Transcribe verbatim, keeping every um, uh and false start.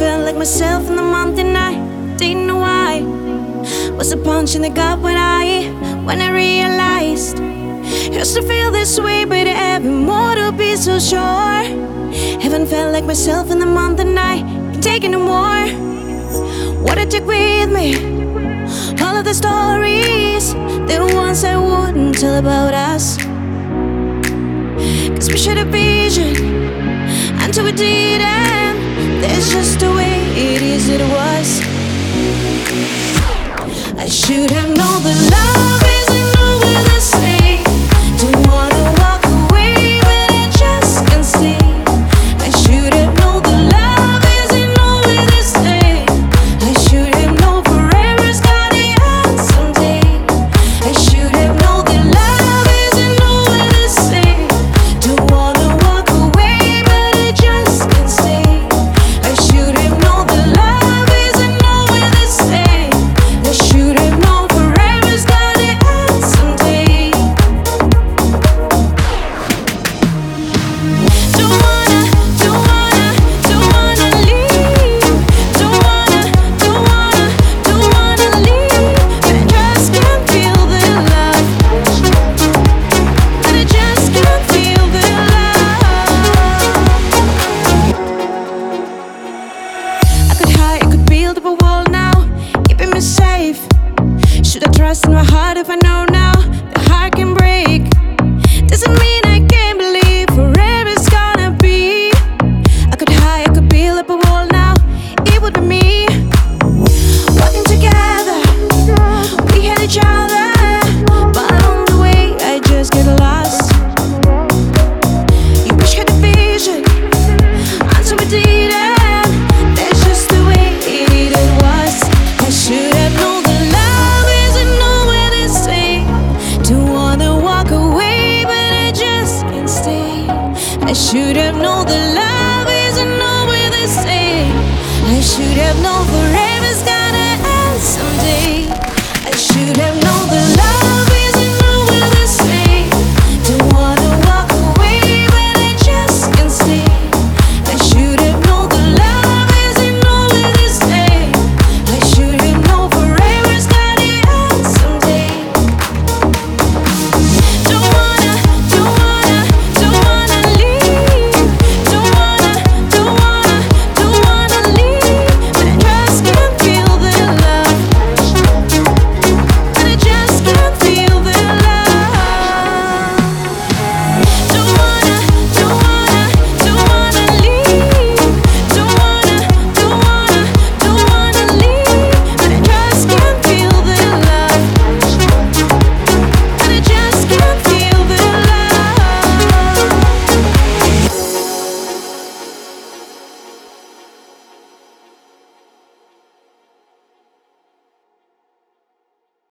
felt like myself in the month and I didn't know why. Was a punch in the gut when I, when I realized used to feel this way, but having more to be so sure. Haven't felt like myself in the month and I can't take it no more. What I took with me, all of the stories, the ones I wouldn't tell about us. Cause we shared a vision until we didn't. That's just the way it is, it was. I should have known that love isn't always the same. Don't wanna walk away, but I just can't stay. I should have known that love isn't always the same. I should have known forever's gotta end someday. I should have known that love isn't always the same. Don't wanna walk away, but I just can't stay. I should have known that love isn't always the same. I should have known forever's gotta end someday. Don't wanna, don't wanna, don't wanna leave. Don't wanna, don't wanna, don't wanna leave. But I just can't feel the love. But I just can't feel the love. I could hide, I could build up a wall now, keeping me safe. Should I trust in my heart if I know now the heart can break? Doesn't mean I can't believe forever's gonna be. I could hide, I could build up a wall now, it would be me. Walking together, we had each other, but on the way I just get lost. You wish you had a vision until we didn't. That's just the way it was. I should have known that love isn't always the same. Don't wanna walk away, but I just can't stay. I should have known that love isn't always the same. I should have known forever's gonna end someday. I should have known that love